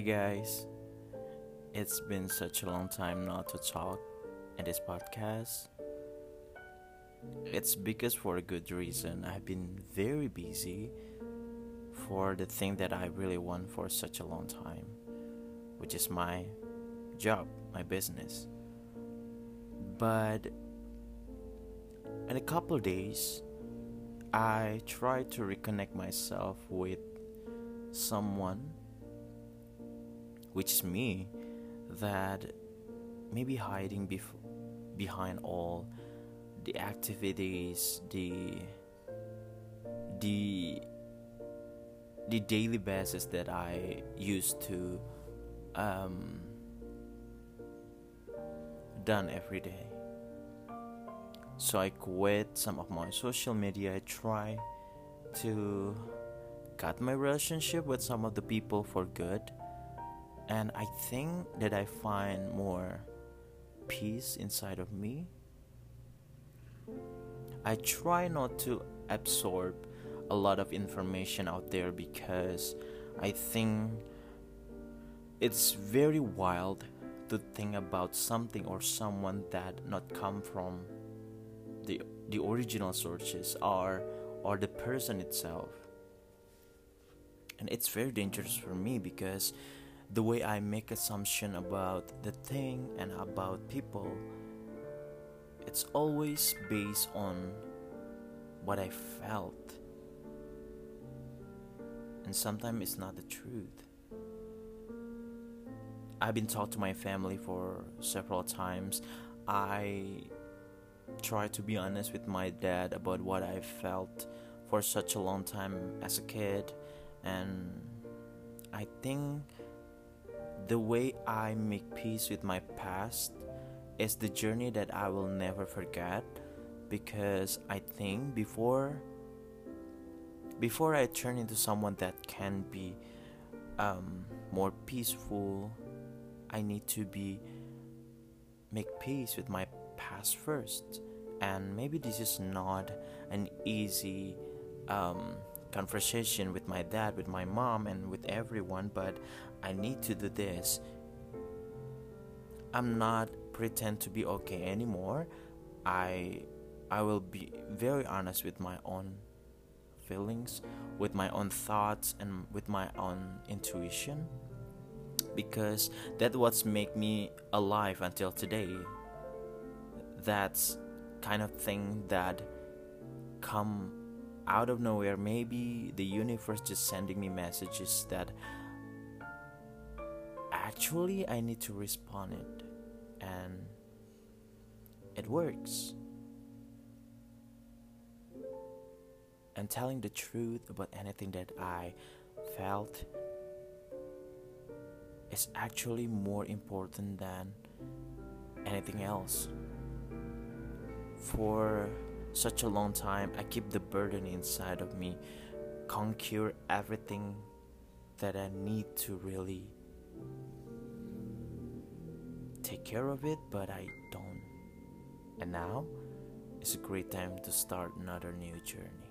guys, it's been such a long time not to talk in this podcast. It's because for a good reason. I've been very busy for the thing that I really want for such a long time, which is my job, my business. But in a couple of days, I try to reconnect myself with someone, which is me, that may be hiding behind all the activities, the the daily basis that I used to um, done every day. So I quit some of my social media. I try to cut my relationship with some of the people for good, and I think that I find more peace inside of me. I try not to absorb a lot of information out there because I think it's very wild to think about something or someone that not come from the original sources or the person itself. And it's very dangerous for me because the way I make assumption about the thing and about people, it's always based on what I felt, and sometimes it's not the truth. I've been talked to my family for several times. I try to be honest with my dad about what I felt for such a long time as a kid, and I think the way I make peace with my past is the journey that I will never forget, because I think before I turn into someone that can be more peaceful, I need to be make peace with my past first. And maybe this is not an easy conversation with my dad, with my mom, and with everyone, but I need to do this. I'm not pretend to be okay anymore. I I will be very honest with my own feelings, with my own thoughts, and with my own intuition, because that's what's make me alive until today. That's kind of thing that come out of nowhere. Maybe the universe just sending me messages that actually I need to respond it, and it works. And telling the truth about anything that I felt is actually more important than anything else. For such a long time, I keep the burden inside of me, conquer everything that I need to really take care of it, but I don't. And now is a great time to start another new journey.